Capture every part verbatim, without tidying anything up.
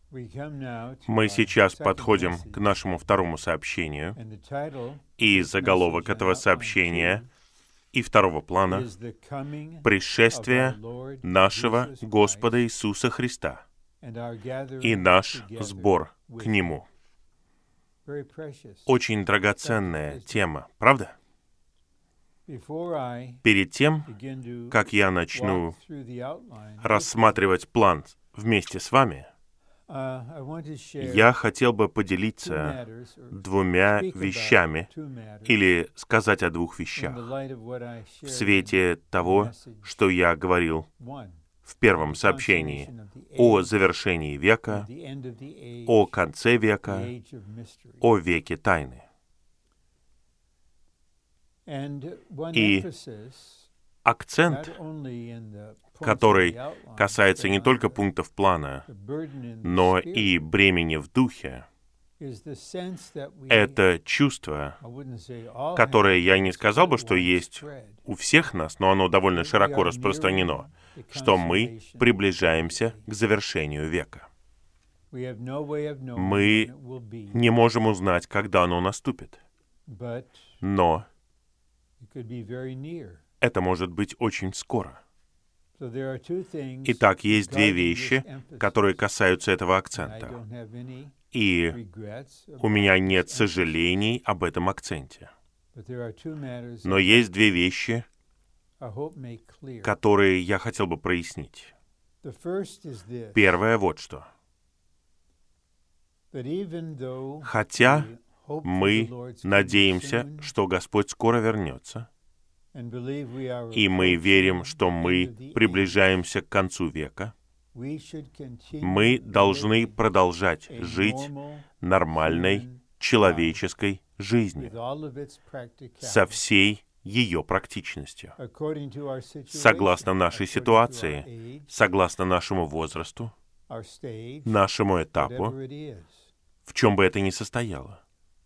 Мы сейчас подходим к нашему второму сообщению, и заголовок этого сообщения и второго плана — «Пришествие нашего Господа Иисуса Христа и наш сбор к Нему». Очень драгоценная тема, правда? Перед тем, как я начну рассматривать план вместе с вами, я хотел бы поделиться двумя вещами или сказать о двух вещах в свете того, что я говорил в первом сообщении о завершении века, о конце века, о веке тайны. И акцент, который касается не только пунктов плана, но и бремени в духе, это чувство, которое я не сказал бы, что есть у всех нас, но оно довольно широко распространено, что мы приближаемся к завершению века. Мы не можем узнать, когда оно наступит, но это может быть очень скоро. Итак, есть две вещи, которые касаются этого акцента. И у меня нет сожалений об этом акценте. Но есть две вещи, которые я хотел бы прояснить. Первое вот что. Хотя мы надеемся, что Господь скоро вернется, и мы верим, что мы приближаемся к концу века, мы должны продолжать жить нормальной человеческой жизнью со всей ее практичностью, согласно нашей ситуации, согласно нашему возрасту, нашему этапу, в чем бы это ни состояло.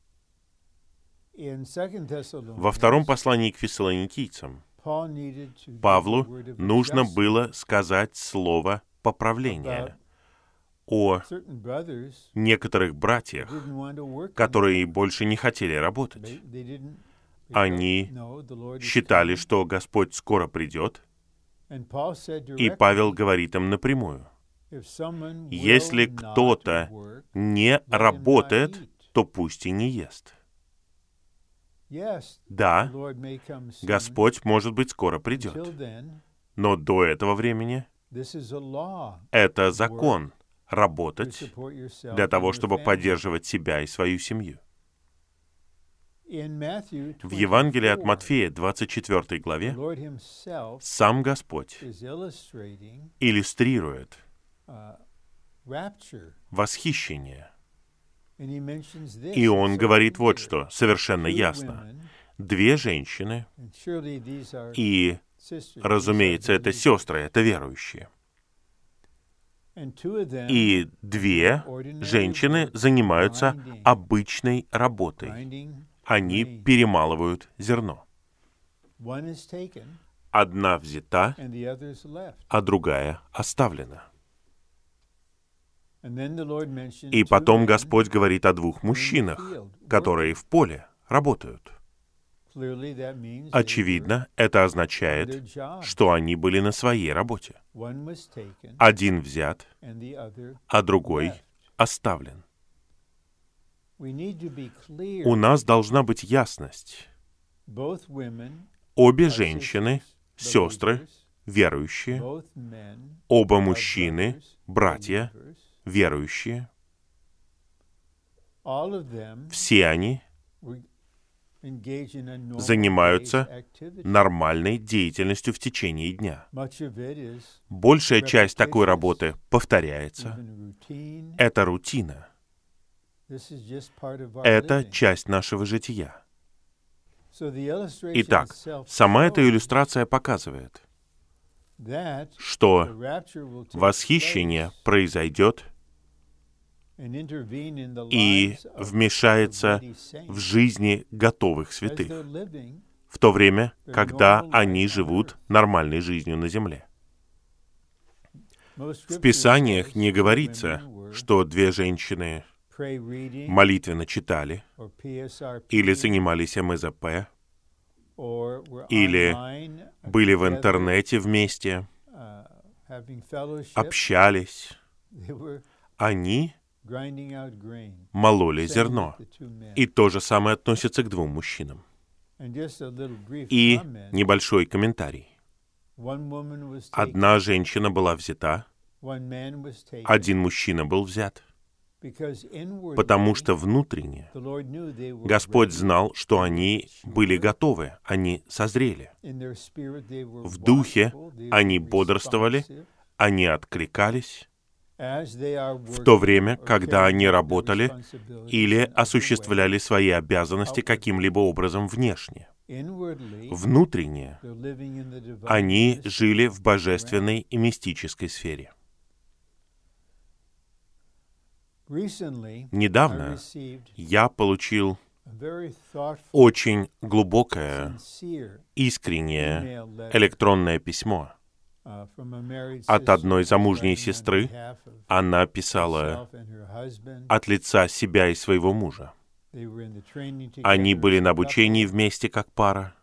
Во втором послании к фессалоникийцам Павлу нужно было сказать слово поправления о некоторых братьях, которые больше не хотели работать. Они считали, что Господь скоро придет, и Павел говорит им напрямую: если кто-то не работает, то пусть и не ест. Да, Господь, может быть, скоро придет, но до этого времени это закон — работать для того, чтобы поддерживать себя и свою семью. В Евангелии от Матфея, двадцать четвёртой главе, сам Господь иллюстрирует восхищение. И Он говорит вот что, совершенно ясно. Две женщины, и, разумеется, это сестры, это верующие. И две женщины занимаются обычной работой. Они перемалывают зерно. Одна взята, а другая оставлена. И потом Господь говорит о двух мужчинах, которые в поле работают. Очевидно, это означает, что они были на своей работе. Один взят, а другой оставлен. У нас должна быть ясность. Обе женщины, сестры, верующие, оба мужчины, братья, верующие, все они занимаются нормальной деятельностью в течение дня. Большая часть такой работы повторяется. Это рутина. Это часть нашего жития. Итак, сама эта иллюстрация показывает, что восхищение произойдет и вмешается в жизни готовых святых в то время, когда они живут нормальной жизнью на земле. В Писаниях не говорится, что две женщины молитвенно читали, или занимались эм зэ пэ, или были в интернете вместе, общались, они мололи зерно. И то же самое относится к двум мужчинам. И небольшой комментарий. Одна женщина была взята, один мужчина был взят, потому что внутренне Господь знал, что они были готовы, они созрели. В духе они бодрствовали, они откликались, в то время, когда они работали или осуществляли свои обязанности каким-либо образом внешне. Внутренне они жили в божественной и мистической сфере. Недавно я получил очень глубокое, искреннее электронное письмо от одной замужней сестры. Она писала от лица себя и своего мужа. Они были на обучении вместе как пара,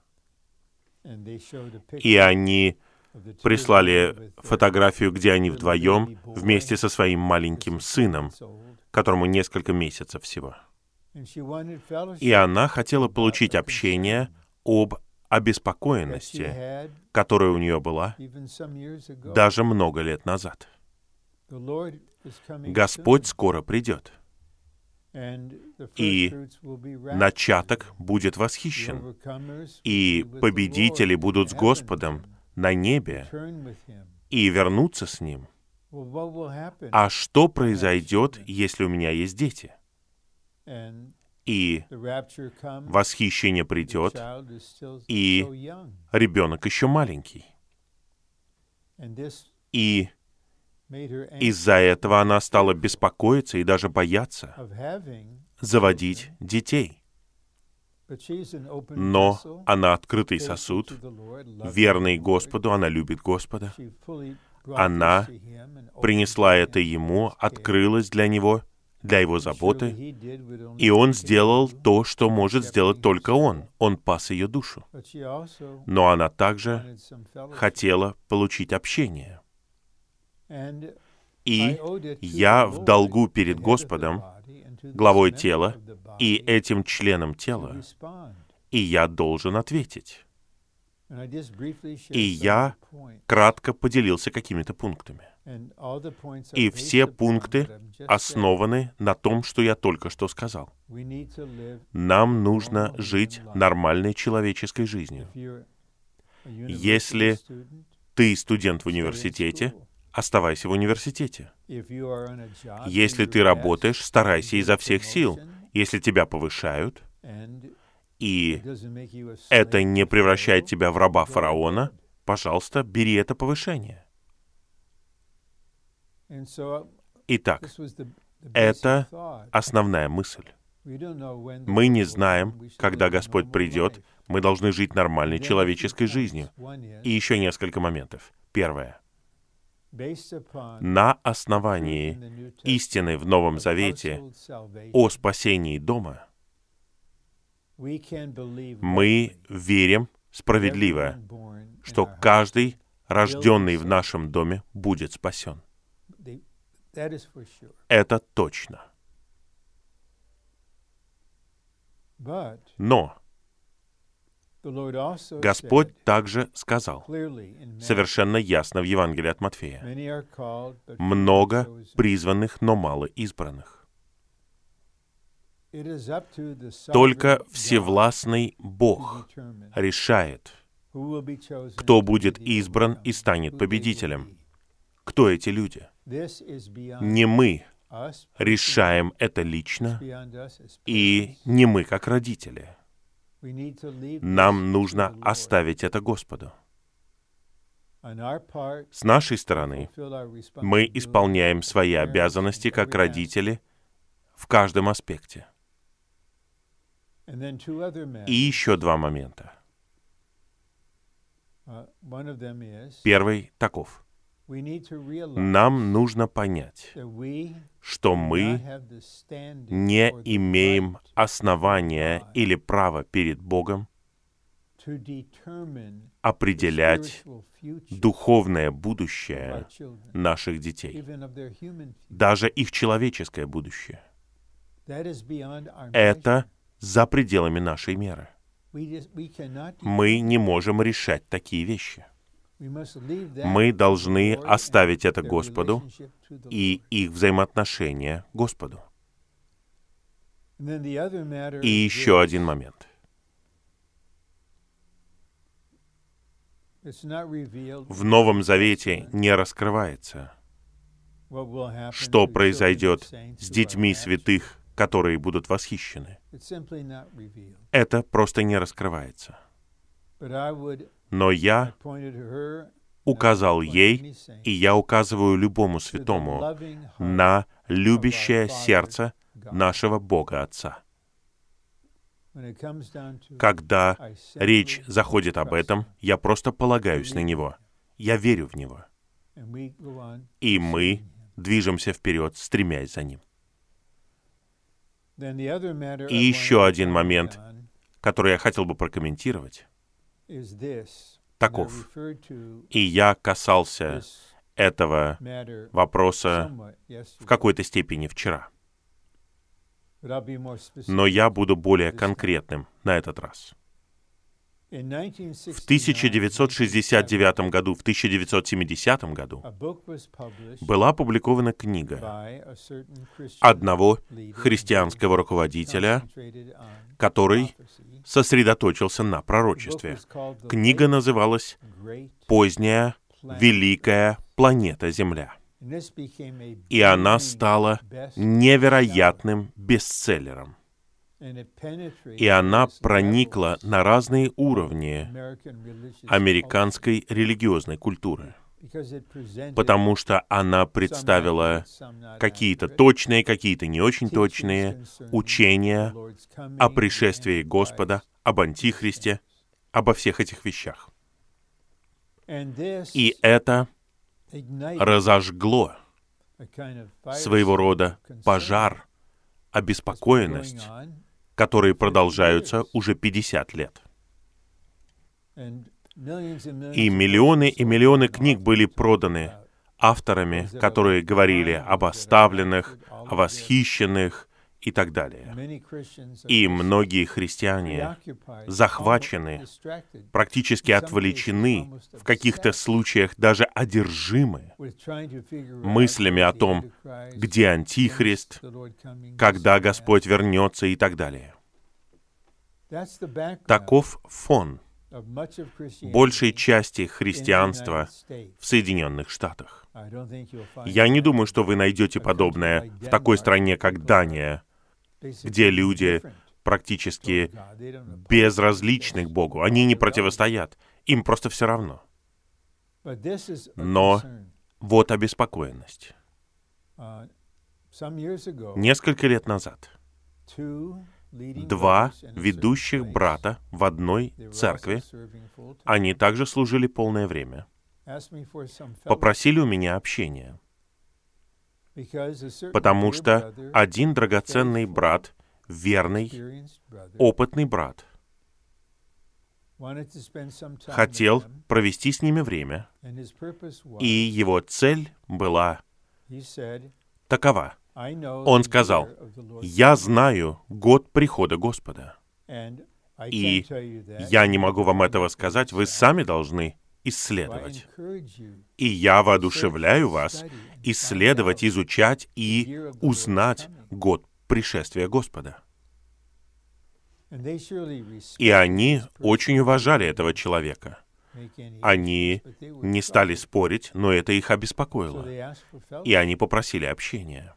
и они прислали фотографию, где они вдвоем вместе со своим маленьким сыном, которому несколько месяцев всего. И она хотела получить общение об обеспокоенности, которая у нее была даже много лет назад. Господь скоро придет, и начаток будет восхищен, и победители будут с Господом на небе и вернутся с Ним. А что произойдет, если у меня есть дети? И восхищение придет, и ребенок еще маленький. И из-за этого она стала беспокоиться и даже бояться заводить детей. Но она открытый сосуд, верный Господу, она любит Господа. Она принесла это Ему, открылась для Него, для Его заботы, и Он сделал то, что может сделать только Он. Он пас ее душу. Но она также хотела получить общение. И я в долгу перед Господом, главой тела, и этим членом тела, и я должен ответить. И я кратко поделился какими-то пунктами. И все пункты основаны на том, что я только что сказал. Нам нужно жить нормальной человеческой жизнью. Если ты студент в университете, оставайся в университете. Если ты работаешь, старайся изо всех сил. Если тебя повышают, и это не превращает тебя в раба фараона, пожалуйста, бери это повышение. Итак, это основная мысль. Мы не знаем, когда Господь придет. Мы должны жить нормальной человеческой жизнью. И еще несколько моментов. Первое. На основании истины в Новом Завете о спасении дома мы верим справедливо, что каждый, рожденный в нашем доме, будет спасен. Это точно. Но Господь также сказал совершенно ясно в Евангелии от Матфея: много призванных, но мало избранных. Только всевластный Бог решает, кто будет избран и станет победителем. Кто эти люди? Не мы решаем это лично, и не мы как родители. Нам нужно оставить это Господу. С нашей стороны мы исполняем свои обязанности как родители в каждом аспекте. И еще два момента. Первый таков. Нам нужно понять, что мы не имеем основания или права перед Богом определять духовное будущее наших детей, даже их человеческое будущее. Это за пределами нашей меры. Мы не можем решать такие вещи. Мы должны оставить это Господу и их взаимоотношения Господу. И еще один момент. В Новом Завете не раскрывается, что произойдет с детьми святых, которые будут восхищены. Это просто не раскрывается. Но я указал ей, и я указываю любому святому, на любящее сердце нашего Бога Отца. Когда речь заходит об этом, я просто полагаюсь на Него. Я верю в Него. И мы движемся вперед, стремясь за Ним. И еще один момент, который я хотел бы прокомментировать, таков. И я касался этого вопроса в какой-то степени вчера. Но я буду более конкретным на этот раз. В тысяча девятьсот шестьдесят девятом году, в тысяча девятьсот семидесятом году была опубликована книга одного христианского руководителя, который сосредоточился на пророчестве. Книга называлась «Поздняя великая планета Земля». И она стала невероятным бестселлером. И она проникла на разные уровни американской религиозной культуры, потому что она представила какие-то точные, какие-то не очень точные учения о пришествии Господа, об Антихристе, обо всех этих вещах. И это разожгло своего рода пожар, обеспокоенность, которые продолжаются уже пятьдесят лет. И миллионы и миллионы книг были проданы авторами, которые говорили об оставленных, о восхищенных и так далее. И многие христиане захвачены, практически отвлечены, в каких-то случаях даже одержимы мыслями о том, где Антихрист, когда Господь вернется и так далее. Таков фон большей части христианства в Соединенных Штатах. Я не думаю, что вы найдете подобное в такой стране, как Дания, где люди практически безразличны к Богу. Они не противостоят, им просто все равно. Но вот обеспокоенность. Несколько лет назад два ведущих брата в одной церкви, они также служили полное время, попросили у меня общения, потому что один драгоценный брат, верный, опытный брат, хотел провести с ними время, и его цель была такова. Он сказал: «Я знаю год прихода Господа, и я не могу вам этого сказать, вы сами должны исследовать. И я воодушевляю вас исследовать, изучать и узнать год пришествия Господа». И они очень уважали этого человека. Они не стали спорить, но это их обеспокоило. И они попросили общения.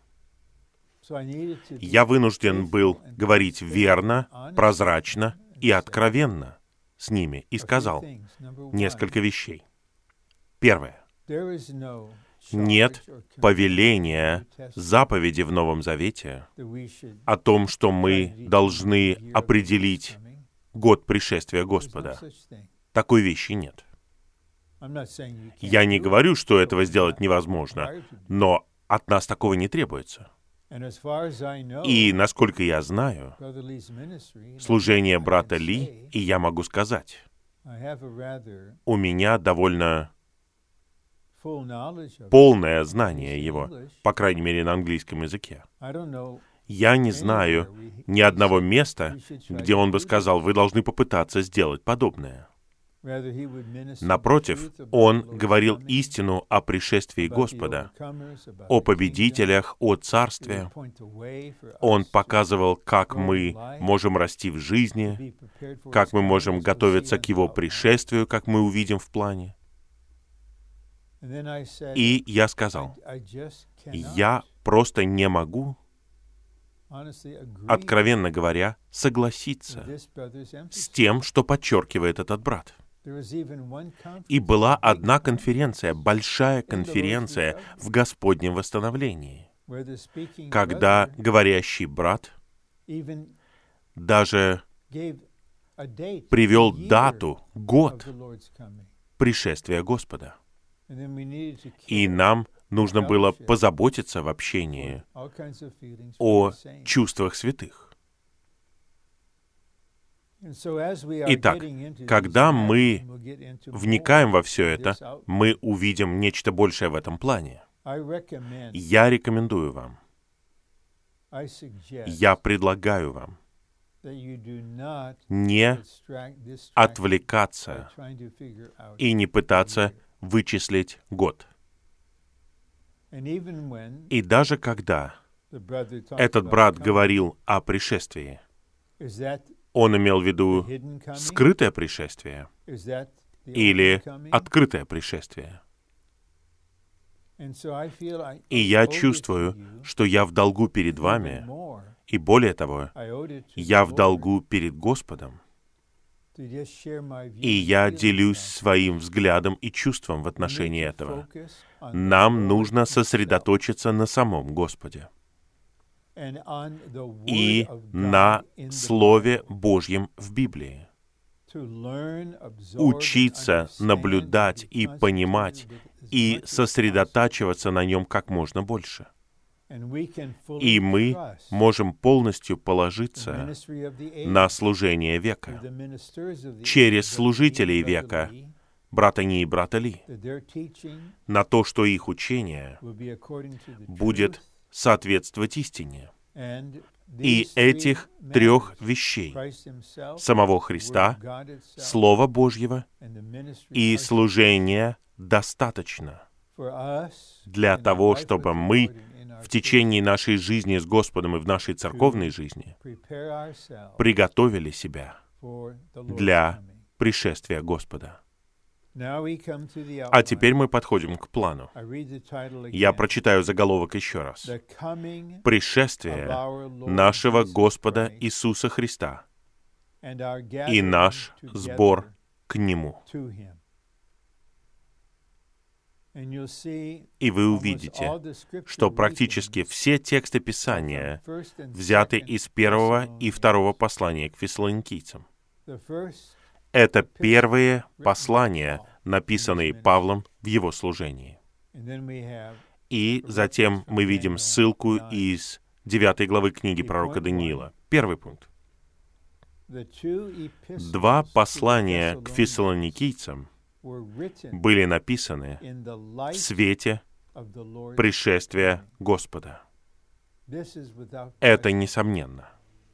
Я вынужден был говорить верно, прозрачно и откровенно с ними и сказал несколько вещей. Первое. Нет повеления, заповеди в Новом Завете о том, что мы должны определить год пришествия Господа. Такой вещи нет. Я не говорю, что этого сделать невозможно, но от нас такого не требуется. И, насколько я знаю, служение брата Ли, и я могу сказать, у меня довольно полное знание его, по крайней мере, на английском языке. Я не знаю ни одного места, где он бы сказал, вы должны попытаться сделать подобное. Напротив, он говорил истину о пришествии Господа, о победителях, о царстве. Он показывал, как мы можем расти в жизни, как мы можем готовиться к Его пришествию, как мы увидим в плане. И я сказал, я просто не могу, откровенно говоря, согласиться с тем, что подчеркивает этот брат. И была одна конференция, большая конференция в Господнем восстановлении, когда говорящий брат даже привел дату, год пришествия Господа. И нам нужно было позаботиться в общении о чувствах святых. Итак, когда мы вникаем во все это, мы увидим нечто большее в этом плане. Я рекомендую вам, я предлагаю вам не отвлекаться и не пытаться вычислить год. И даже когда этот брат говорил о пришествии, он имел в виду скрытое пришествие или открытое пришествие. И я чувствую, что я в долгу перед вами, и более того, я в долгу перед Господом, и я делюсь своим взглядом и чувством в отношении этого. Нам нужно сосредоточиться на самом Господе и на Слове Божьем в Библии. Учиться наблюдать и понимать, и сосредотачиваться на нем как можно больше. И мы можем полностью положиться на служение века через служителей века, брата Ни и брата Ли, на то, что их учение будет соответствовать истине. И этих трех вещей — самого Христа, Слова Божьего и служения — достаточно для того, чтобы мы в течение нашей жизни с Господом и в нашей церковной жизни приготовили себя для пришествия Господа. А теперь мы подходим к плану. Я прочитаю заголовок еще раз. «Пришествие нашего Господа Иисуса Христа и наш сбор к Нему». И вы увидите, что практически все тексты Писания взяты из первого и второго послания к фессалоникийцам. Это первые послания, написанные Павлом в его служении. И затем мы видим ссылку из девятой главы книги пророка Даниила. Первый пункт. Два послания к фессалоникийцам были написаны в свете пришествия Господа. Это несомненно.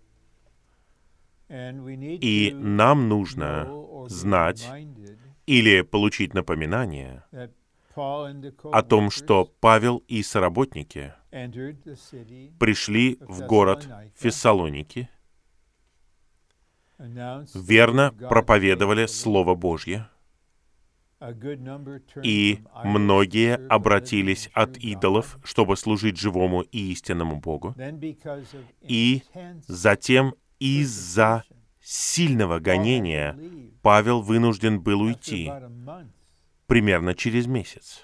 И нам нужно знать или получить напоминание о том, что Павел и соработники пришли в город Фессалоники, верно проповедовали Слово Божье, и многие обратились от идолов, чтобы служить живому и истинному Богу, и затем из-за сильного гонения Павел вынужден был уйти примерно через месяц.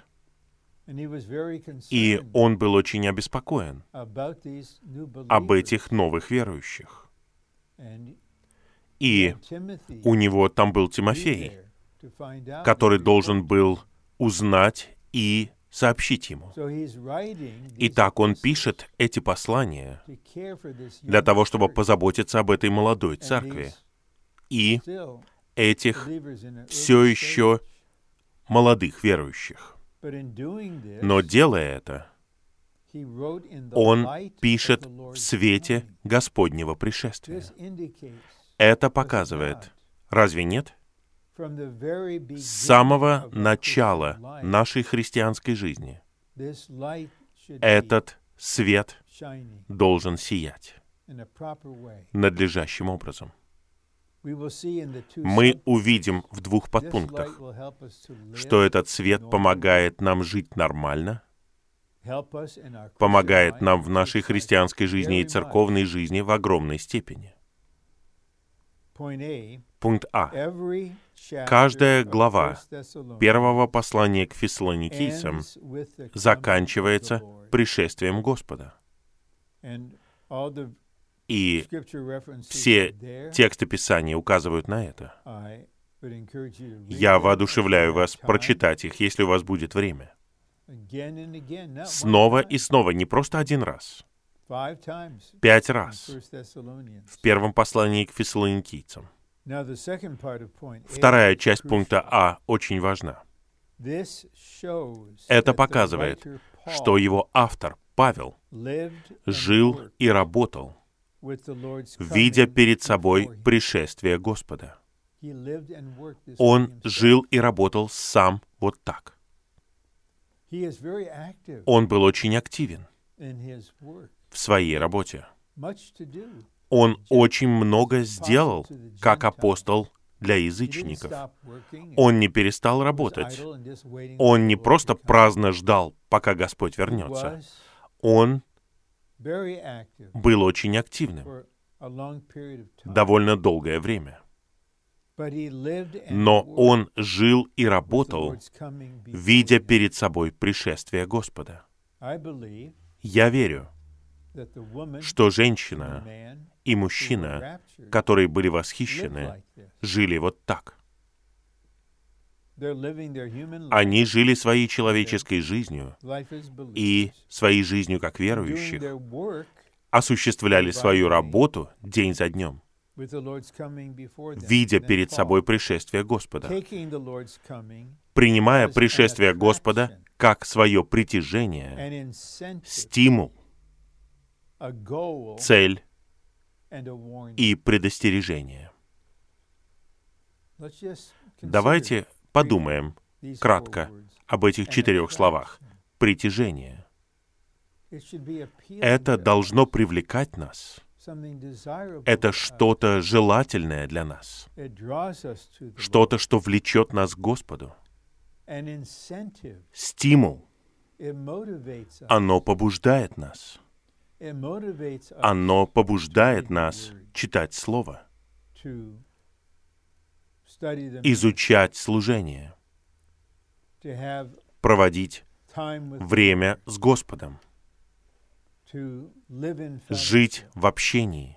И он был очень обеспокоен об этих новых верующих. И у него там был Тимофей, который должен был узнать и сообщить ему. Итак, он пишет эти послания для того, чтобы позаботиться об этой молодой церкви и этих все еще молодых верующих. Но делая это, он пишет в свете Господнего пришествия. Это показывает, разве нет? С самого начала нашей христианской жизни этот свет должен сиять надлежащим образом. Мы увидим в двух подпунктах, что этот свет помогает нам жить нормально, помогает нам в нашей христианской жизни и церковной жизни в огромной степени. Пункт А. Каждая глава первого послания к фессалоникийцам заканчивается пришествием Господа. И все тексты Писания указывают на это. Я воодушевляю вас прочитать их, если у вас будет время. Снова и снова, не просто один раз. Пять раз в первом послании к фессалоникийцам. Вторая часть пункта А очень важна. Это показывает, что его автор, Павел, жил и работал, видя перед собой пришествие Господа. Он жил и работал сам вот так. Он был очень активен в своей работе. Он очень много сделал, как апостол для язычников. Он не перестал работать. Он не просто праздно ждал, пока Господь вернется. Он был очень активным довольно долгое время. Но он жил и работал, видя перед собой пришествие Господа. Я верю, что женщина и мужчина, которые были восхищены, жили вот так. Они жили своей человеческой жизнью и своей жизнью как верующих, осуществляли свою работу день за днем, видя перед собой пришествие Господа, принимая пришествие Господа как свое притяжение, стимул, цель и предостережение. Давайте подумаем кратко об этих четырех словах. Притяжение. Это должно привлекать нас. Это что-то желательное для нас. Что-то, что влечет нас к Господу. Стимул. Оно побуждает нас. Оно побуждает нас читать Слово, изучать служение, проводить время с Господом, жить в общении,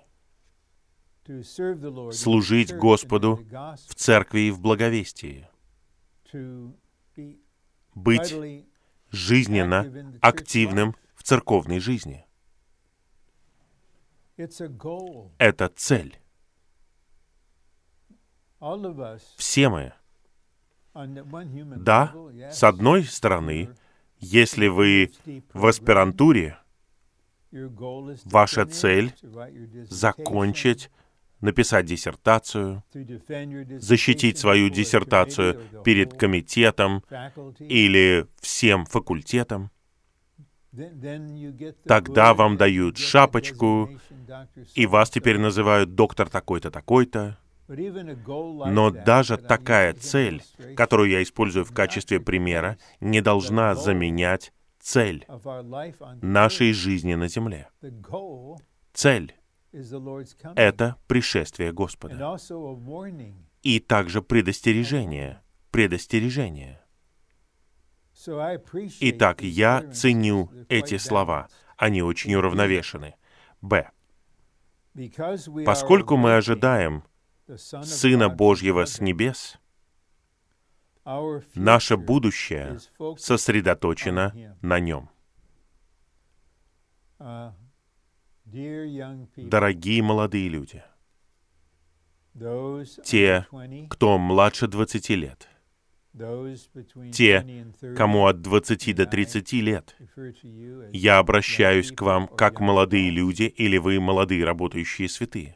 служить Господу в церкви и в благовестии, быть жизненно активным в церковной жизни. Это цель. Все мы. Да, с одной стороны, если вы в аспирантуре, ваша цель — закончить, написать диссертацию, защитить свою диссертацию перед комитетом или всем факультетом. Тогда вам дают шапочку, и вас теперь называют доктор такой-то, такой-то. Но даже такая цель, которую я использую в качестве примера, не должна заменять цель нашей жизни на земле. Цель — это пришествие Господа. И также предостережение. Предостережение. Итак, я ценю эти слова. Они очень уравновешены. Б. Поскольку мы ожидаем Сына Божьего с небес, Наше будущее сосредоточено на Нем. Дорогие молодые люди, те, кто младше двадцати лет, те, кому от двадцати до тридцати лет, я обращаюсь к вам как молодые люди или вы молодые работающие святые.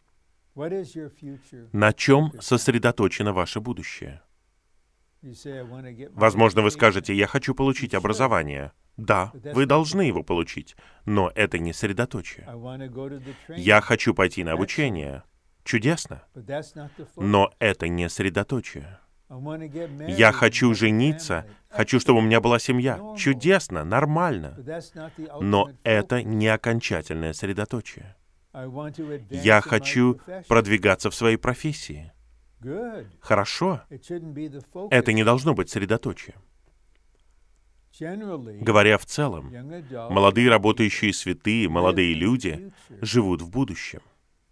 На чем сосредоточено ваше будущее? Возможно, вы скажете, я хочу получить образование. Да, вы должны его получить, но это не средоточие. Я хочу пойти на обучение. Чудесно. Но это не средоточие. Я хочу жениться, хочу, чтобы у меня была семья. Чудесно, нормально. Но это не окончательное средоточие. Я хочу продвигаться в своей профессии. Хорошо. Это не должно быть средоточием. Говоря в целом, молодые работающие святые, молодые люди живут в будущем.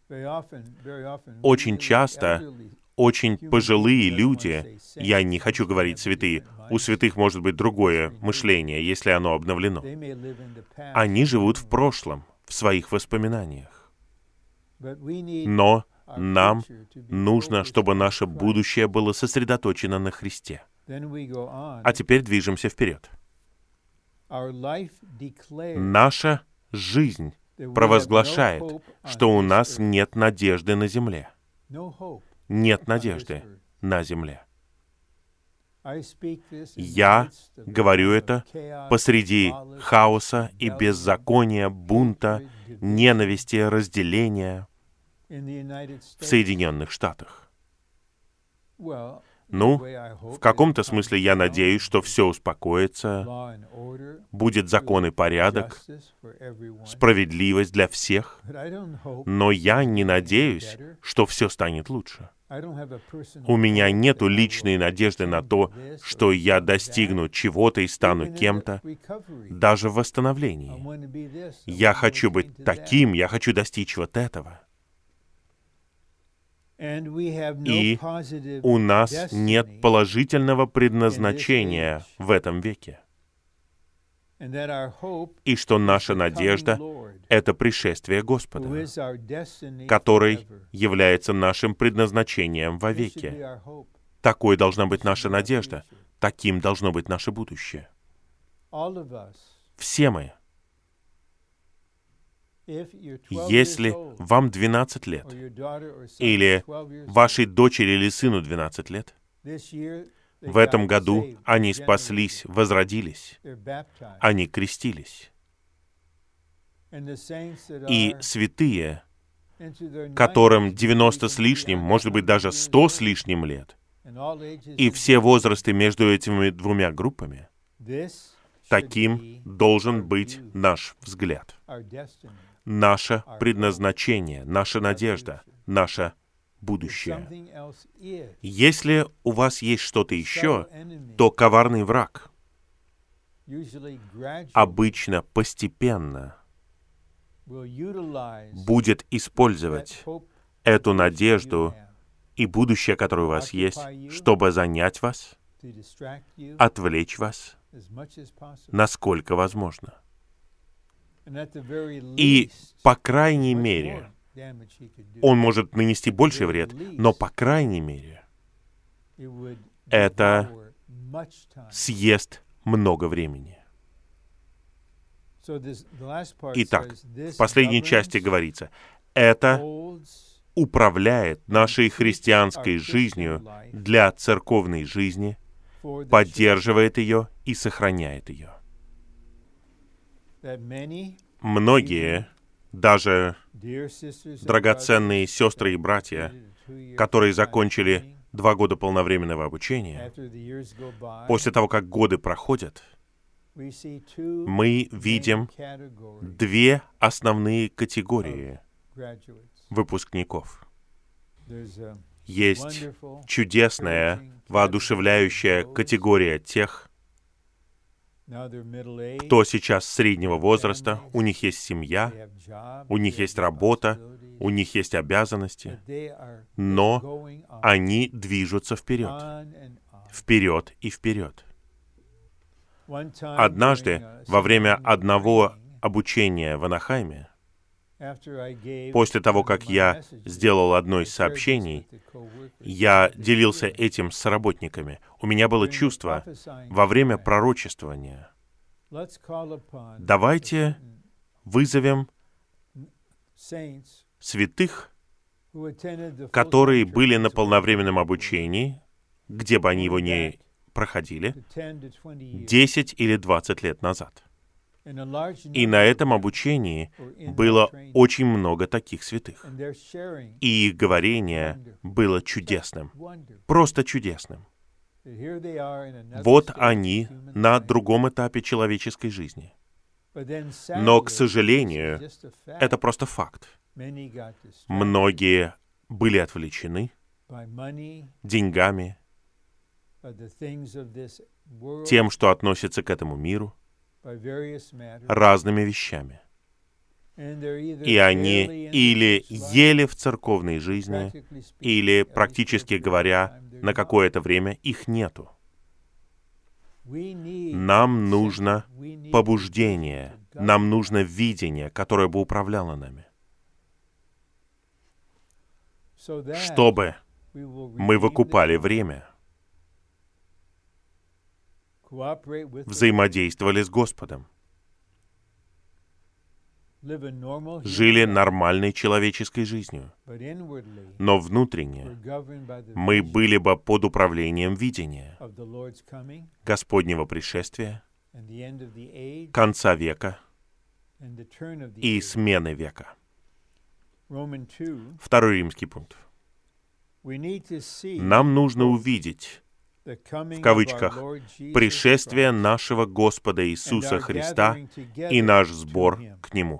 Очень часто очень пожилые люди, я не хочу говорить святые, у святых может быть другое мышление, если оно обновлено. Они живут в прошлом, в своих воспоминаниях. Но нам нужно, чтобы наше будущее было сосредоточено на Христе. А теперь движемся вперед. Наша жизнь провозглашает, что у нас нет надежды на земле. Нет надежды на земле. Я говорю это посреди хаоса и беззакония, бунта, ненависти, разделения в Соединенных Штатах. Ну, в каком-то смысле я надеюсь, что все успокоится, будет закон и порядок, справедливость для всех, но я не надеюсь, что все станет лучше. У меня нет личной надежды на то, что я достигну чего-то и стану кем-то, даже в восстановлении. Я хочу быть таким, я хочу достичь вот этого. И у нас нет положительного предназначения в этом веке. И что наша надежда — это пришествие Господа, который является нашим предназначением вовеки. Такой должна быть наша надежда, таким должно быть наше будущее. Все мы. Если вам двенадцать лет, или вашей дочери или сыну двенадцать лет, в этом году они спаслись, возродились, они крестились. И святые, которым девяносто с лишним, может быть, даже сто с лишним лет, и все возрасты между этими двумя группами, таким должен быть наш взгляд. Наше предназначение, наша надежда, наше будущее. Если у вас есть что-то еще, то коварный враг обычно постепенно будет использовать эту надежду и будущее, которое у вас есть, чтобы занять вас, отвлечь вас, насколько возможно. И, по крайней мере, он может нанести больший вред, но, по крайней мере, это съест много времени. Итак, в последней части говорится, это управляет нашей христианской жизнью для церковной жизни, поддерживает ее и сохраняет ее. Многие, даже драгоценные сестры и братья, которые закончили два года полновременного обучения, после того, как годы проходят, мы видим две основные категории выпускников. Есть чудесная, воодушевляющая категория тех, кто сейчас среднего возраста, у них есть семья, у них есть работа, у них есть обязанности, но они движутся вперед. вперед и вперед. Однажды, во время одного обучения в Анахайме, после того, как я сделал одно из сообщений, я делился этим с работниками. У меня было чувство во время пророчествования. Давайте вызовем святых, которые были на полновременном обучении, где бы они его ни проходили, десять или двадцать лет назад. И на этом обучении было очень много таких святых. И их говорение было чудесным, просто чудесным. Вот они на другом этапе человеческой жизни. Но, к сожалению, это просто факт. Многие были отвлечены деньгами, тем, что относится к этому миру, разными вещами. И они или ели в церковной жизни, или, практически говоря, на какое-то время их нету. Нам нужно побуждение, нам нужно видение, которое бы управляло нами, чтобы мы выкупали время, взаимодействовали с Господом, жили нормальной человеческой жизнью, но внутренне мы были бы под управлением видения Господнего пришествия, конца века и смены века. Второй римский пункт. Нам нужно увидеть, в кавычках, пришествие нашего Господа Иисуса Христа и наш сбор к Нему.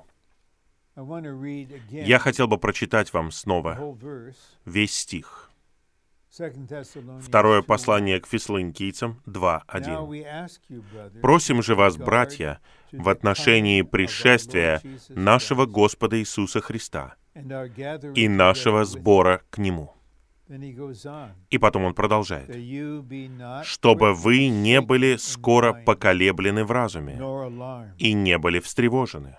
Я хотел бы прочитать вам снова весь стих. Второе послание к Фессалоникийцам два один. «Просим же вас, братья, в отношении пришествия нашего Господа Иисуса Христа и нашего сбора к Нему». И потом он продолжает. «Чтобы вы не были скоро поколеблены в разуме и не были встревожены».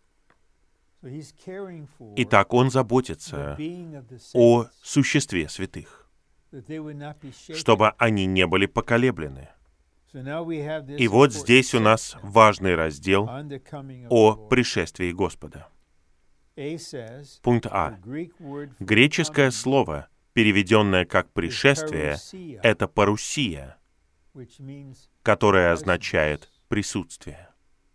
Итак, он заботится о существе святых, чтобы они не были поколеблены. И вот здесь у нас важный раздел о пришествии Господа. Пункт А. Греческое слово, переведенное как «пришествие», это «парусия», которое означает «присутствие».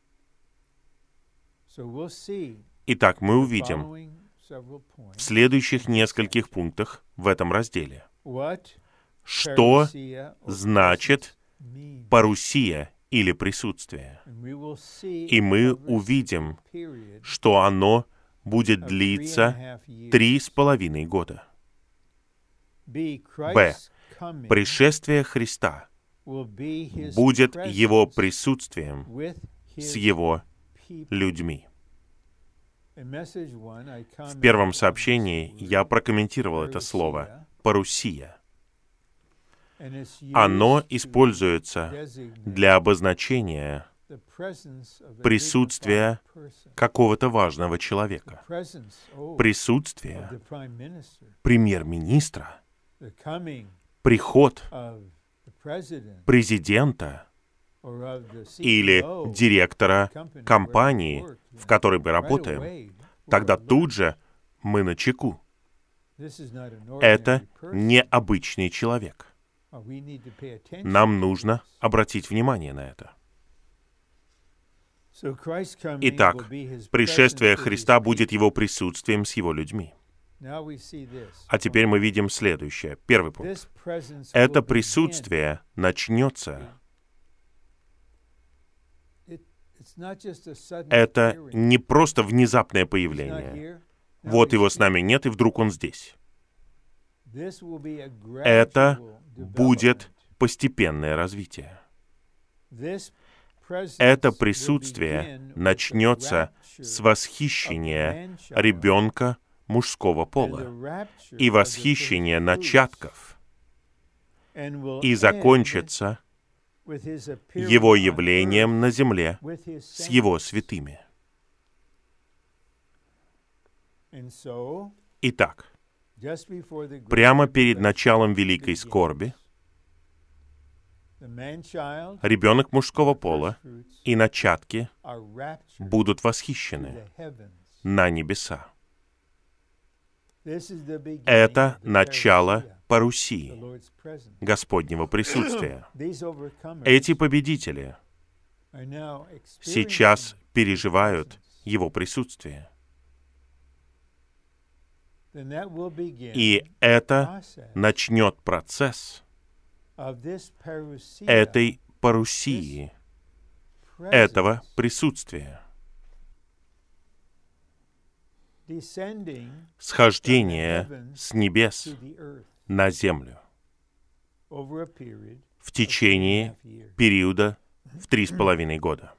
Итак, мы увидим в следующих нескольких пунктах в этом разделе, что значит парусия или присутствие. И мы увидим, что оно будет длиться три с половиной года. Б. Пришествие Христа будет Его присутствием с Его людьми. В первом сообщении я прокомментировал это слово «парусия». Оно используется для обозначения присутствия какого-то важного человека, присутствие премьер-министра, приход президента или директора компании, в которой мы работаем, тогда тут же мы начеку. Это необычный человек. Нам нужно обратить внимание на это. Итак, пришествие Христа будет Его присутствием с Его людьми. А теперь мы видим следующее. Первый пункт. Это присутствие начнется. Это не просто внезапное появление. Вот Его с нами нет, и вдруг Он здесь. Это будет постепенное развитие. Это присутствие начнется с восхищения ребенка мужского пола и восхищения начатков. и закончится Его явлением на земле с Его святыми. Итак, прямо перед началом великой скорби ребенок мужского пола и начатки будут восхищены на небеса. Это начало парусии, Господнего присутствия. Эти победители сейчас переживают Его присутствие. И это начнет процесс этой парусии, этого присутствия. Схождение с небес на землю в течение периода в три с половиной года.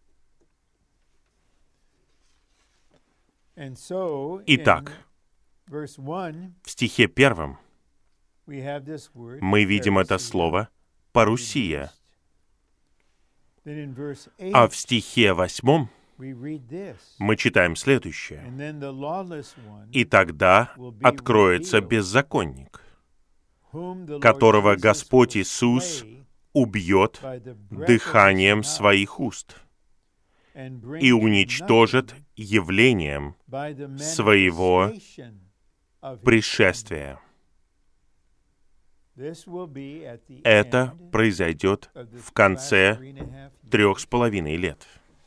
Итак, в стихе первом мы видим это слово «парусия», а в стихе восьмом мы читаем следующее. «И тогда откроется беззаконник, которого Господь Иисус убьет дыханием своих уст и уничтожит явлением своего пришествия». Это произойдет в конце трех с половиной лет.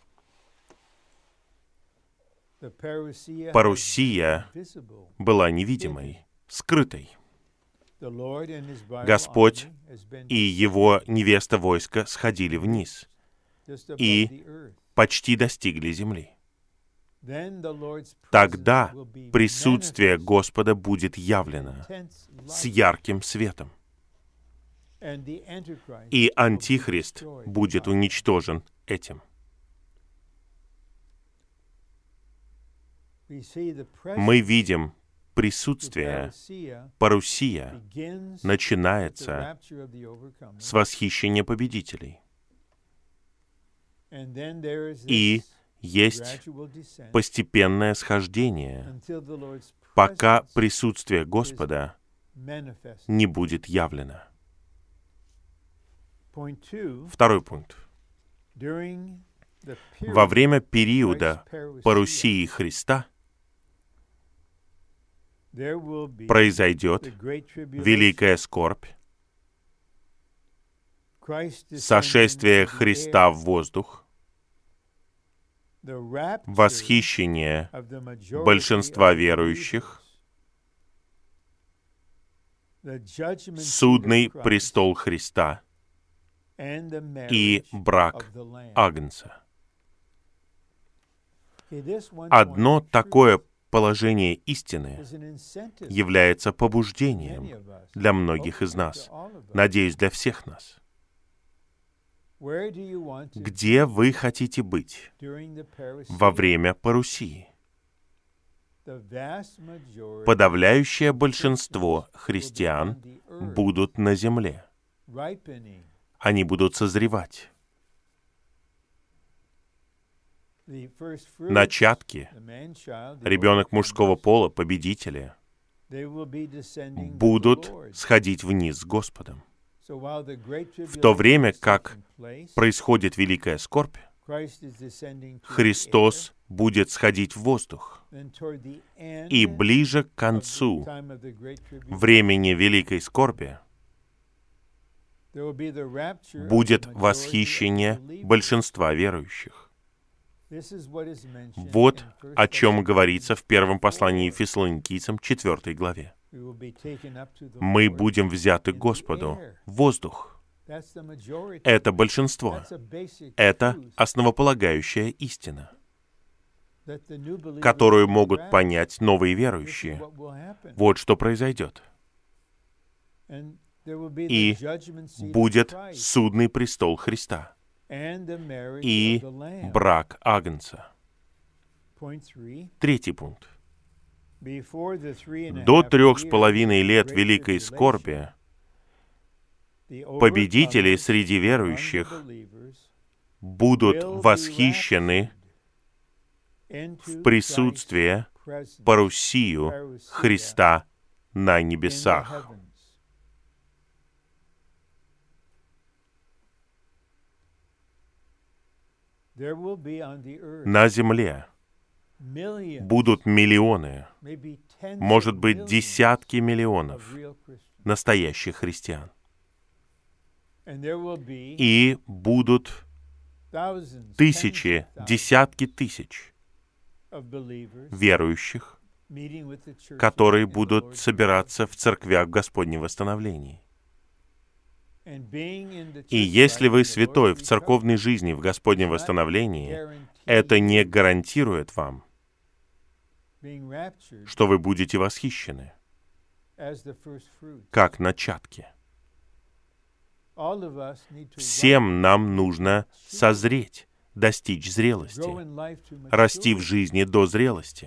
Парусия была невидимой, скрытой. Господь и Его невеста войска сходили вниз и почти достигли земли. Тогда присутствие Господа будет явлено с ярким светом, и Антихрист будет уничтожен этим. Мы видим присутствие, парусия начинается с восхищения победителей. И есть постепенное схождение, пока присутствие Господа не будет явлено. Второй пункт. Во время периода парусии Христа произойдет великая скорбь, сошествие Христа в воздух, восхищение большинства верующих, судный престол Христа и брак Агнца. Одно такое положение истины является побуждением для многих из нас, надеюсь, для всех нас. Где вы хотите быть во время парусии? Подавляющее большинство христиан будут на земле. Они будут созревать. Начатки, ребенок мужского пола, победители, будут сходить вниз с Господом. В то время как происходит великая скорбь, Христос будет сходить в воздух. И ближе к концу времени великой скорби будет восхищение большинства верующих. Вот о чем говорится в первом послании Фессалоникийцам, четвёртой главе. Мы будем взяты к Господу в воздух. Это большинство. Это основополагающая истина, которую могут понять новые верующие. Вот что произойдет. И будет судный престол Христа и брак Агнца. Третий пункт. До трех с половиной лет великой скорби Победители среди верующих будут восхищены в присутствии парусию Христа на небесах. На земле будут миллионы, может быть, десятки миллионов настоящих христиан. И будут тысячи, десятки тысяч верующих, которые будут собираться в церквях в Господнем восстановлении. И если вы святой в церковной жизни в Господнем восстановлении, это не гарантирует вам, что вы будете восхищены, как начатки. Всем нам нужно созреть, достичь зрелости, расти в жизни до зрелости.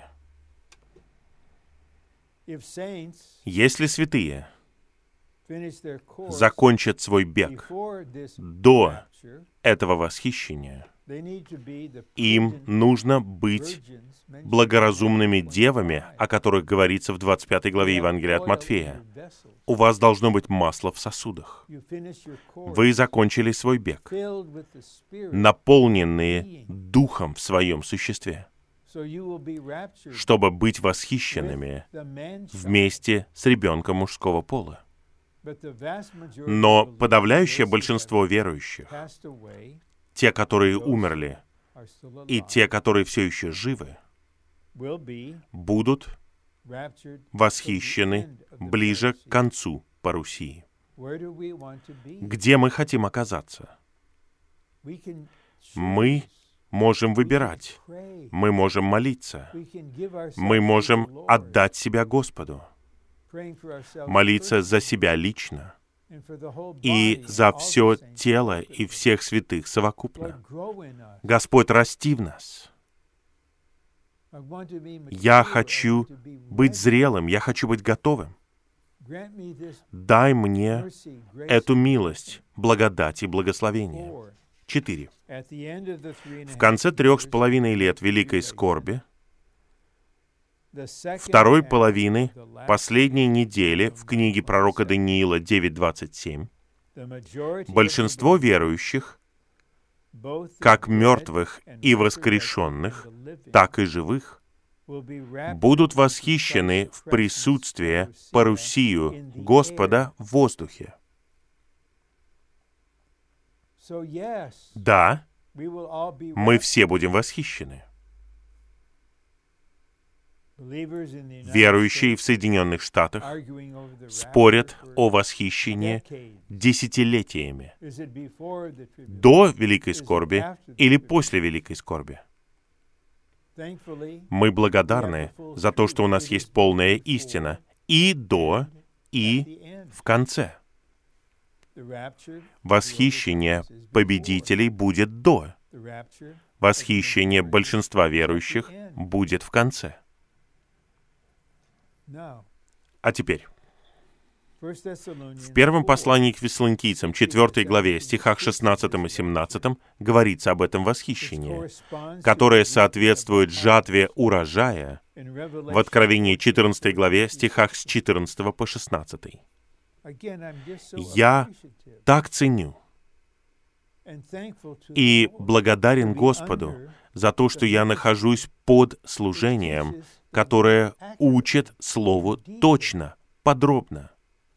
Если святые закончат свой бег до этого восхищения, им нужно быть благоразумными девами, о которых говорится в двадцать пятой главе Евангелия от Матфея. У вас должно быть масло в сосудах. Вы закончили свой бег, наполненные Духом в своем существе, чтобы быть восхищенными вместе с ребенком мужского пола. Но подавляющее большинство верующих, те, которые умерли, и те, которые все еще живы, будут восхищены ближе к концу парусии. Где мы хотим оказаться? Мы можем выбирать, мы можем молиться, мы можем отдать себя Господу, молиться за себя лично и за все тело и всех святых совокупно. Господь, расти в нас. Я хочу быть зрелым, я хочу быть готовым. Дай мне эту милость, благодать и благословение. Четыре. В конце трех с половиной лет великой скорби, второй половины последней недели в книге пророка Даниила девять двадцать семь, большинство верующих, как мертвых и воскрешенных, так и живых, будут восхищены в присутствии парусию Господа в воздухе. Да, мы все будем восхищены. Верующие в Соединенных Штатах спорят о восхищении десятилетиями. До Великой Скорби или после Великой Скорби. Мы благодарны за то, что у нас есть полная истина и до, и в конце. Восхищение победителей будет до. Восхищение большинства верующих будет в конце. А теперь, в первом послании к Фессалоникийцам, четвёртой главе, стихах шестнадцатом и семнадцатом, говорится об этом восхищении, которое соответствует жатве урожая в Откровении четырнадцатой главе, стихах с четырнадцатого по шестнадцатый. Я так ценю и благодарен Господу за то, что я нахожусь под служением, которое учит Слову точно, подробно.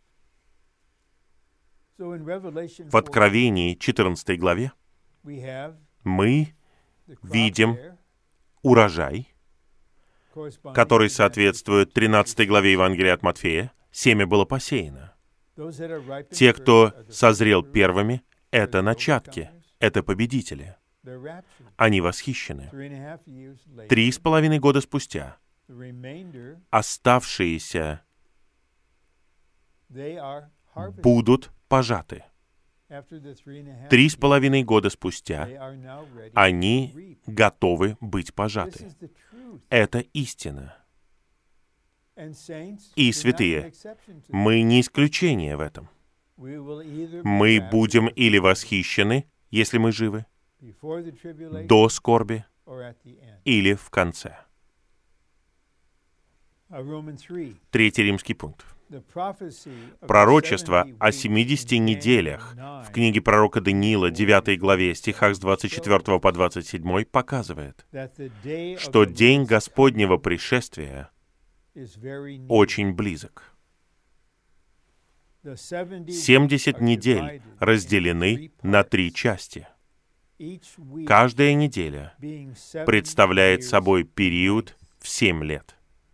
В Откровении четырнадцатой главе мы видим урожай, который соответствует тринадцатой главе Евангелия от Матфея. Семя было посеяно. Те, кто созрел первыми, это начатки, это победители. Они восхищены. Три с половиной года спустя оставшиеся будут пожаты. Три с половиной года спустя они готовы быть пожаты. Это истина. И, святые, мы не исключение в этом. Мы будем или восхищены, если мы живы, до скорби или в конце. Третий римский пункт. Пророчество о семидесяти неделях в книге пророка Даниила, девятой главе, стихах с двадцать четвёртого по двадцать седьмой, показывает, что день Господнего пришествия очень близок. семьдесят недель разделены на три части. Каждая неделя представляет собой период в семь лет.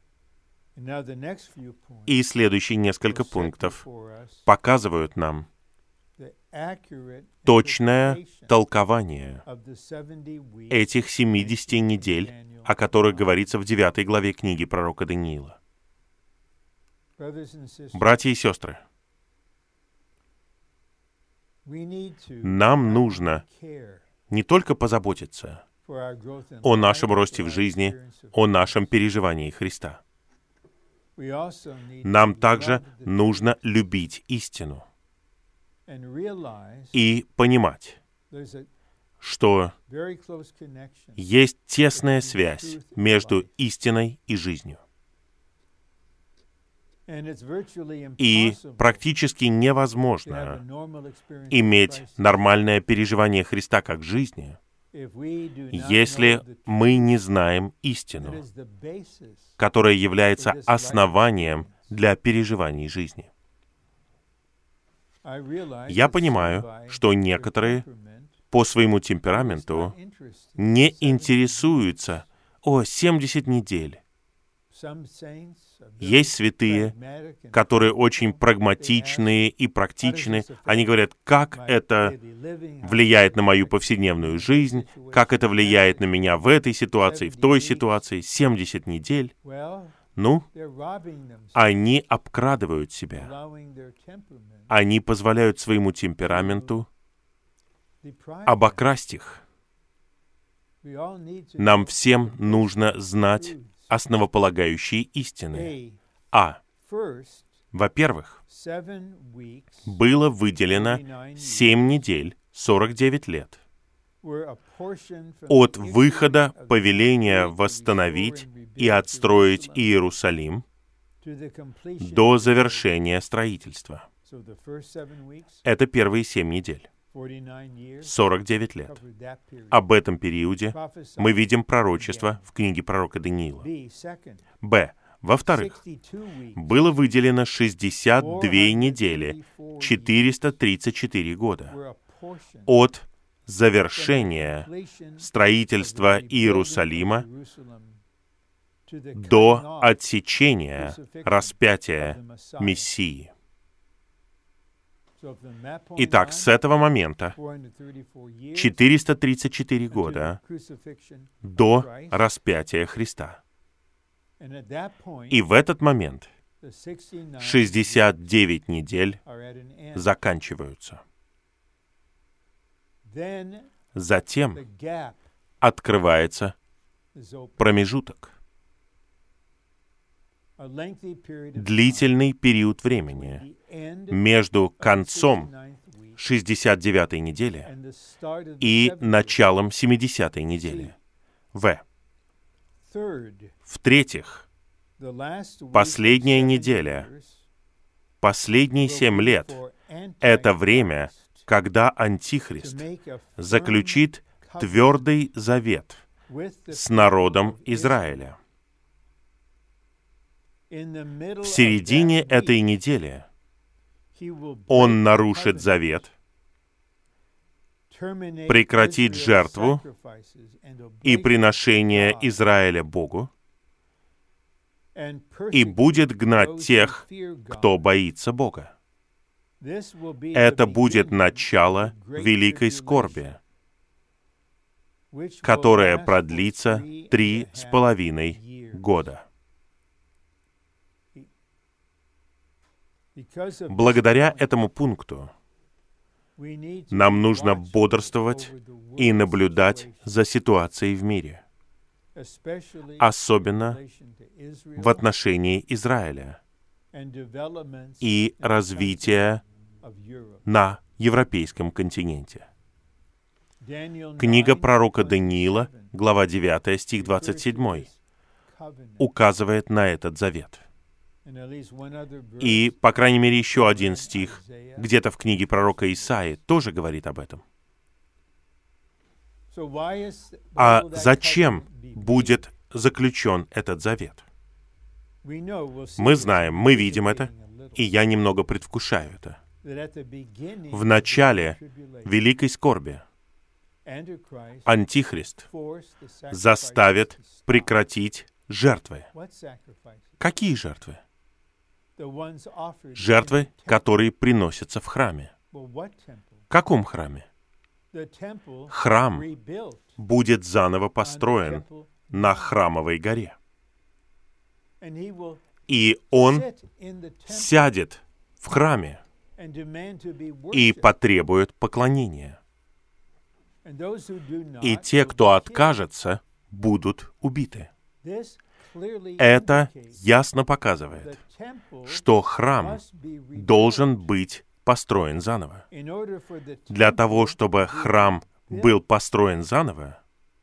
И следующие несколько пунктов показывают нам точное толкование этих семидесяти недель, о которых говорится в девятой главе книги пророка Даниила. Братья и сестры, нам нужно не только позаботиться о нашем росте в жизни, о нашем переживании Христа. Нам также нужно любить истину и понимать, что есть тесная связь между истиной и жизнью. И практически невозможно иметь нормальное переживание Христа как жизни, если мы не знаем истину, которая является основанием для переживаний жизни. Я понимаю, что некоторые по своему темпераменту не интересуются о семьдесят недель. Есть святые, которые очень прагматичные и практичны. Они говорят, как это влияет на мою повседневную жизнь, как это влияет на меня в этой ситуации, в той ситуации. семьдесят недель. Ну, они обкрадывают себя. Они позволяют своему темпераменту обокрасть их. Нам всем нужно знать основополагающие истины. А. Во-первых, было выделено семь недель, сорок девять лет, от выхода повеления восстановить и отстроить Иерусалим до завершения строительства. Это первые семь недель. сорок девять лет. Об этом периоде мы видим пророчество в книге пророка Даниила. Б. Во-вторых, было выделено шестьдесят две недели, четыреста тридцать четыре года, от завершения строительства Иерусалима до отсечения распятия Мессии. Итак, с этого момента четыреста тридцать четыре года до распятия Христа. И в этот момент шестьдесят девять недель заканчиваются. Затем открывается промежуток. Длительный период времени между концом шестьдесят девятой недели и началом семидесятой недели. В. В-третьих, последняя неделя, последние семь лет — это время, когда Антихрист заключит твердый завет с народом Израиля. В середине этой недели он нарушит завет, прекратит жертву и приношение Израиля Богу и будет гнать тех, кто боится Бога. Это будет начало великой скорби, которая продлится три с половиной года. Благодаря этому пункту нам нужно бодрствовать и наблюдать за ситуацией в мире, особенно в отношении Израиля и развития на европейском континенте. Книга пророка Даниила, глава девятая, стих двадцать семь, указывает на этот завет. И, по крайней мере, еще один стих, где-то в книге пророка Исаии, тоже говорит об этом. А зачем будет заключен этот завет? Мы знаем, мы видим это, и я немного предвкушаю это. В начале великой скорби Антихрист заставит прекратить жертвы. Какие жертвы? Жертвы, которые приносятся в храме. В каком храме? Храм будет заново построен на Храмовой горе. И он сядет в храме и потребует поклонения. И те, кто откажется, будут убиты. Это ясно показывает, что храм должен быть построен заново. Для того, чтобы храм был построен заново,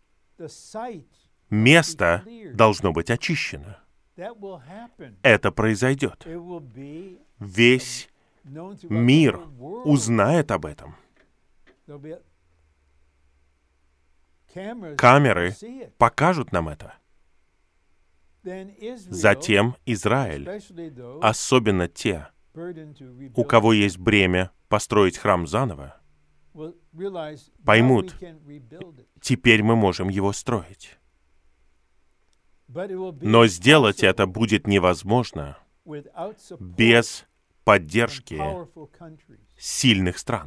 место должно быть очищено. Это произойдет. Весь мир узнает об этом. Камеры покажут нам это. Затем Израиль, особенно те, у кого есть бремя построить храм заново, поймут, теперь мы можем его строить. Но сделать это будет невозможно без поддержки сильных стран.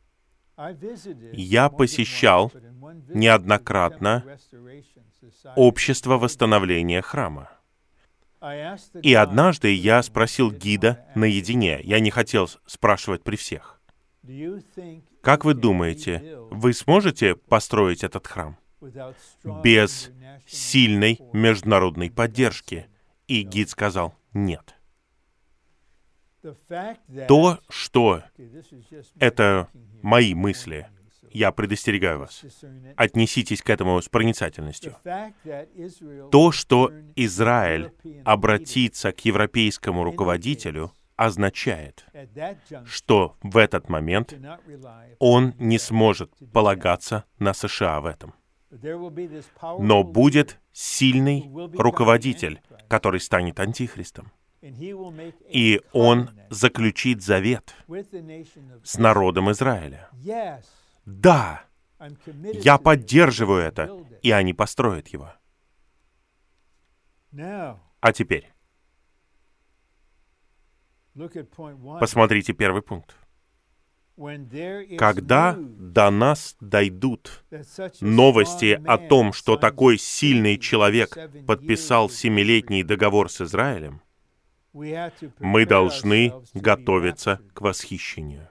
Я посещал неоднократно общество восстановления храма. И однажды я спросил гида наедине, я не хотел спрашивать при всех: «Как вы думаете, вы сможете построить этот храм без сильной международной поддержки?» И гид сказал: «Нет». То, что это мои мысли, я предостерегаю вас, отнеситесь к этому с проницательностью. То, что Израиль обратится к европейскому руководителю, означает, что в этот момент он не сможет полагаться на США в этом. Но будет сильный руководитель, который станет антихристом. И он заключит завет с народом Израиля. Да, я поддерживаю это, и они построят его. А теперь, посмотрите первый пункт. Когда до нас дойдут новости о том, что такой сильный человек подписал семилетний договор с Израилем, мы должны готовиться к восхищению.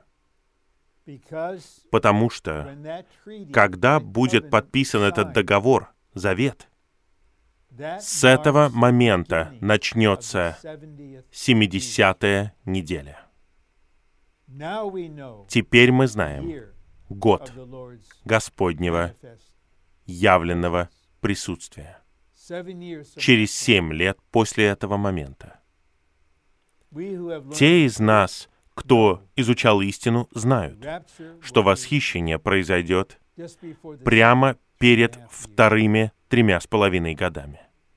Потому что, когда будет подписан этот договор, завет, с этого момента начнется семидесятая неделя. Теперь мы знаем год Господнего явленного присутствия. Через семь лет после этого момента. Те из нас, кто изучал истину, знают, что восхищение произойдет прямо перед вторыми тремя с половиной годами.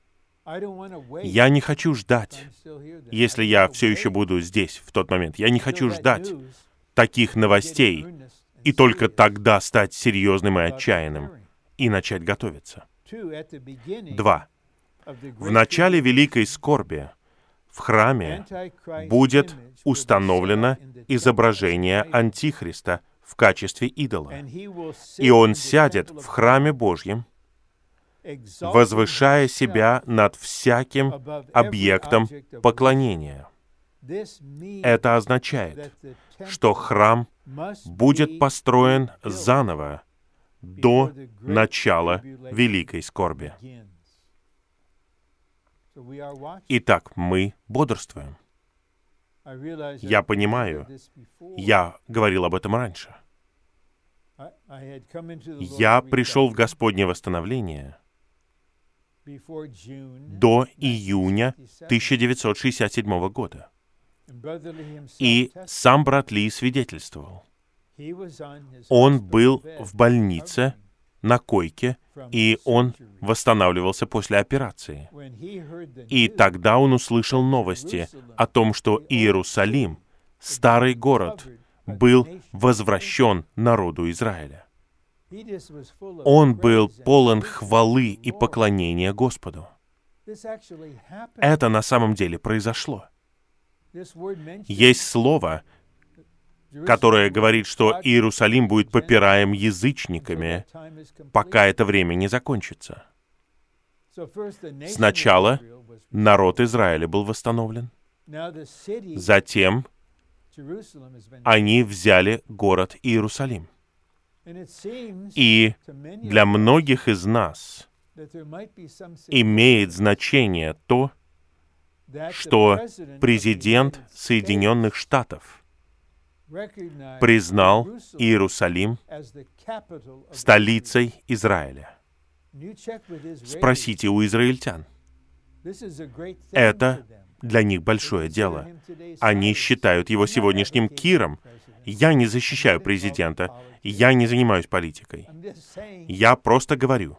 Я не хочу ждать, если я все еще буду здесь в тот момент, я не хочу ждать таких новостей и только тогда стать серьезным и отчаянным и начать готовиться. Два. В начале великой скорби в храме будет установлено изображение Антихриста в качестве идола. И он сядет в храме Божьем, возвышая себя над всяким объектом поклонения. Это означает, что храм будет построен заново до начала великой скорби. Итак, мы бодрствуем. Я понимаю, я говорил об этом раньше. Я пришел в Господне восстановление до июня тысяча девятьсот шестьдесят седьмого года. И сам брат Ли свидетельствовал. Он был в больнице, на койке, и он восстанавливался после операции. И тогда он услышал новости о том, что Иерусалим, старый город, был возвращен народу Израиля. Он был полон хвалы и поклонения Господу. Это на самом деле произошло. Есть слово, которое говорит, что Иерусалим будет попираем язычниками, пока это время не закончится. Сначала народ Израиля был восстановлен. Затем они взяли город Иерусалим. И для многих из нас имеет значение то, что президент Соединенных Штатов признал Иерусалим столицей Израиля. Спросите у израильтян. Это для них большое дело. Они считают его сегодняшним Киром. Я не защищаю президента, я не занимаюсь политикой. Я просто говорю.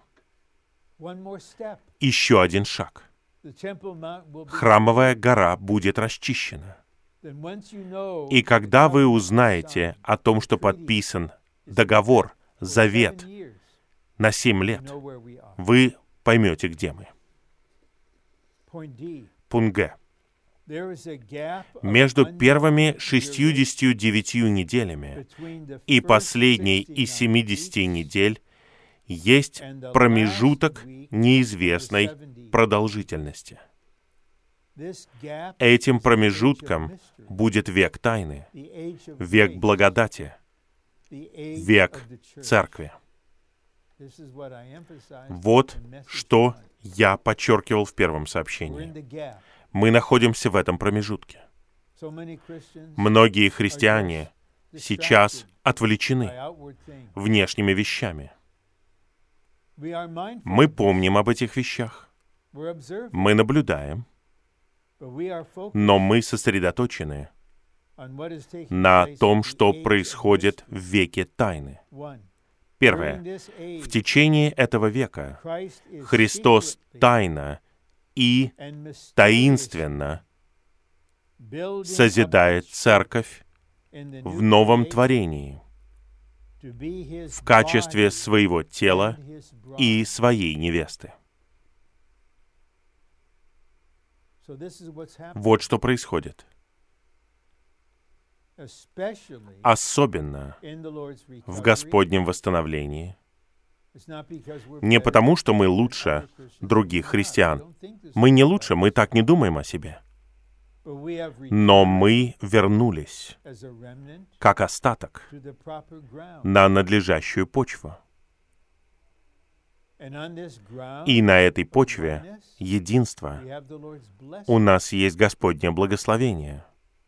Еще один шаг. Храмовая гора будет расчищена. И когда вы узнаете о том, что подписан договор, завет на семь лет, вы поймете, где мы. Пункт Г. Между первыми шестьюдесятью девятью неделями и последней из семидесяти недель есть промежуток неизвестной продолжительности. Этим промежутком будет век тайны, век благодати, век церкви. Вот что я подчеркивал в первом сообщении. Мы находимся в этом промежутке. Многие христиане сейчас отвлечены внешними вещами. Мы помним об этих вещах. Мы наблюдаем. Но мы сосредоточены на том, что происходит в веке тайны. Первое. В течение этого века Христос тайно и таинственно созидает церковь в новом творении в качестве своего тела и своей невесты. Вот что происходит. Особенно в Господнем восстановлении. Не потому, что мы лучше других христиан. Мы не лучше, мы так не думаем о себе. Но мы вернулись, как остаток, на надлежащую почву. И на этой почве единства у нас есть Господнее благословение.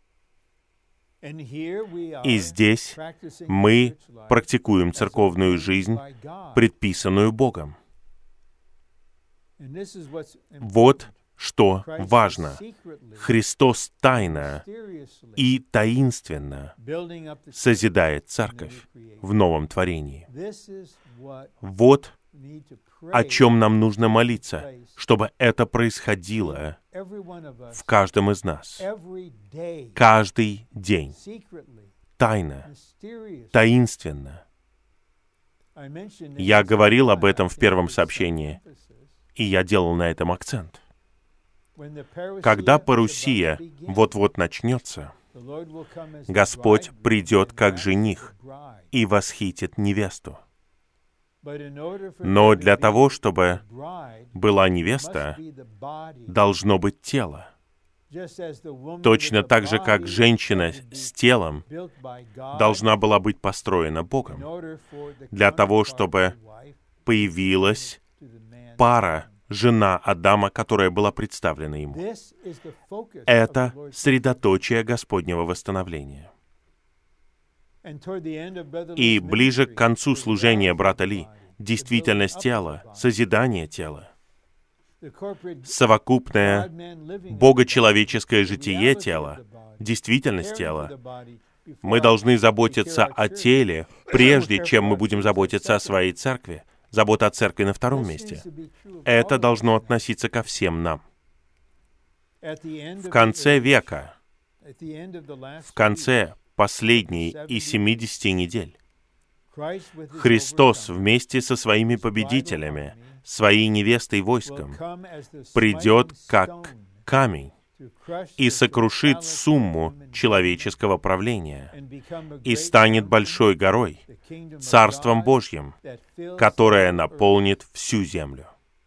И здесь мы практикуем церковную жизнь, предписанную Богом. Вот что важно. Христос тайно и таинственно созидает церковь в новом творении. Вот о чем нам нужно молиться, чтобы это происходило в каждом из нас. Каждый день. Тайно. Таинственно. Я говорил об этом в первом сообщении, и я делал на этом акцент. Когда парусия вот-вот начнется, Господь придет как жених и восхитит невесту. Но для того, чтобы была невеста, должно быть тело. Точно так же, как женщина с телом должна была быть построена Богом. Для того, чтобы появилась пара жена Адама, которая была представлена ему. Это средоточие Господнего восстановления. И ближе к концу служения брата Ли, действительность тела, созидание тела, совокупное богочеловеческое житие тела, действительность тела. Мы должны заботиться о теле, прежде чем мы будем заботиться о своей церкви. Забота о церкви на втором месте. Это должно относиться ко всем нам. В конце века, в конце последней из семидесяти недель, Христос вместе со своими победителями, своей невестой войском, придет как камень и сокрушит сумму человеческого правления и станет большой горой, Царством Божьим, которое наполнит всю землю.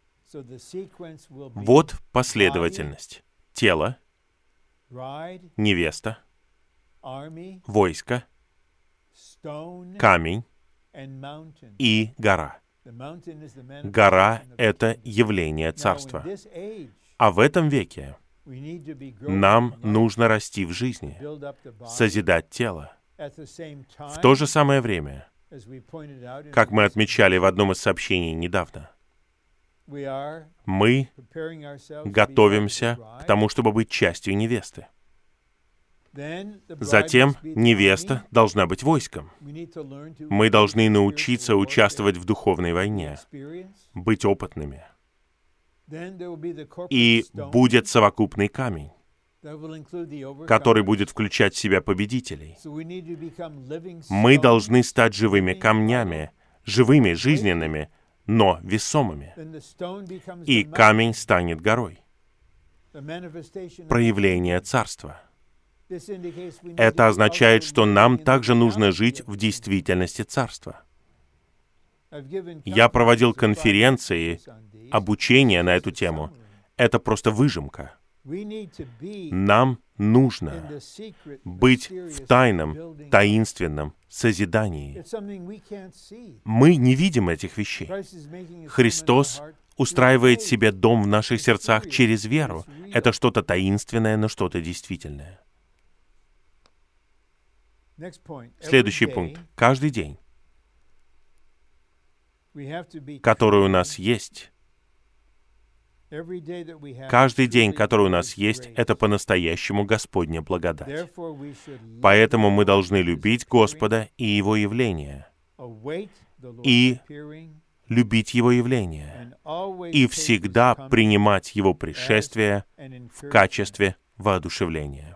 Вот последовательность. Тело, невеста, войско, камень и гора. Гора — это явление Царства. А в этом веке нам нужно расти в жизни, созидать тело. В то же самое время, как мы отмечали в одном из сообщений недавно, мы готовимся к тому, чтобы быть частью невесты. Затем невеста должна быть войском. Мы должны научиться участвовать в духовной войне, быть опытными. И будет совокупный камень, который будет включать в себя победителей. Мы должны стать живыми камнями, живыми, жизненными, но весомыми. И камень станет горой. Проявление Царства. Это означает, что нам также нужно жить в действительности Царства. Я проводил конференции, обучение на эту тему. Это просто выжимка. Нам нужно быть в тайном, таинственном созидании. Мы не видим этих вещей. Христос устраивает себе дом в наших сердцах через веру. Это что-то таинственное, но что-то действительное. Следующий пункт. Каждый день, который у нас есть, каждый день, который у нас есть, это по-настоящему Господня благодать. Поэтому мы должны любить Господа и Его явление, и любить Его явление, и всегда принимать Его пришествие в качестве воодушевления.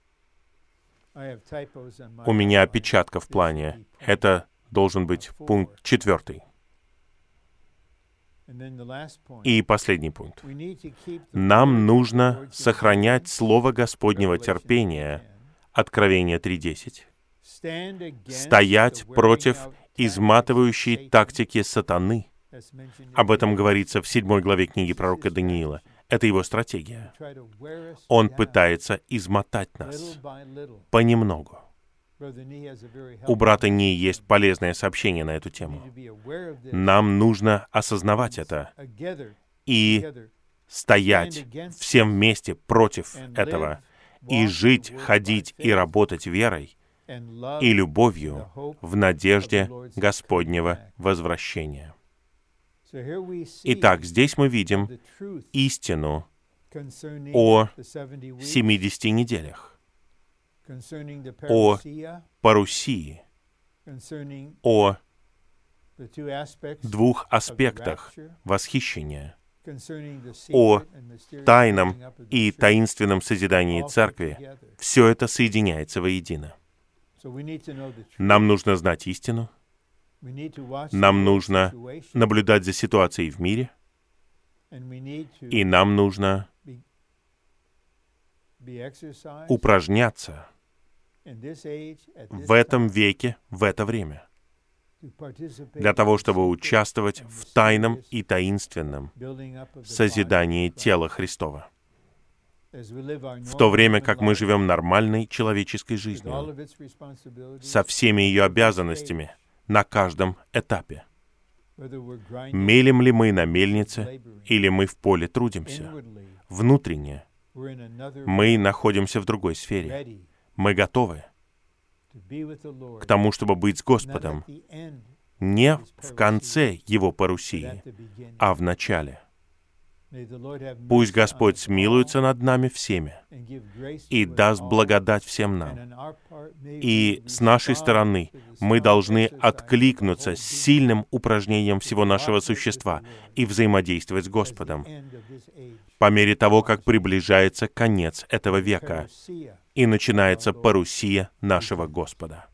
У меня опечатка в плане. Это должен быть пункт четвертый. И последний пункт. Нам нужно сохранять Слово Господнего терпения, Откровение три десять, стоять против изматывающей тактики сатаны. Об этом говорится в седьмой главе книги пророка Даниила. Это его стратегия. Он пытается измотать нас понемногу. У брата Ни есть полезное сообщение на эту тему. Нам нужно осознавать это и стоять всем вместе против этого, и жить, ходить и работать верой и любовью в надежде Господнего возвращения. Итак, здесь мы видим истину о семидесяти неделях, о парусии, о двух аспектах восхищения, о тайном и таинственном созидании Церкви. Все это соединяется воедино. Нам нужно знать истину, нам нужно наблюдать за ситуацией в мире, и нам нужно упражняться в этом веке, в это время, для того, чтобы участвовать в тайном и таинственном созидании тела Христова. В то время как мы живем нормальной человеческой жизнью, со всеми ее обязанностями, на каждом этапе. Мелем ли мы на мельнице, или мы в поле трудимся? Внутренне мы находимся в другой сфере. Мы готовы к тому, чтобы быть с Господом не в конце Его парусии, а в начале. Пусть Господь смилуется над нами всеми и даст благодать всем нам. И с нашей стороны мы должны откликнуться с сильным упражнением всего нашего существа и взаимодействовать с Господом по мере того, как приближается конец этого века и начинается парусия нашего Господа.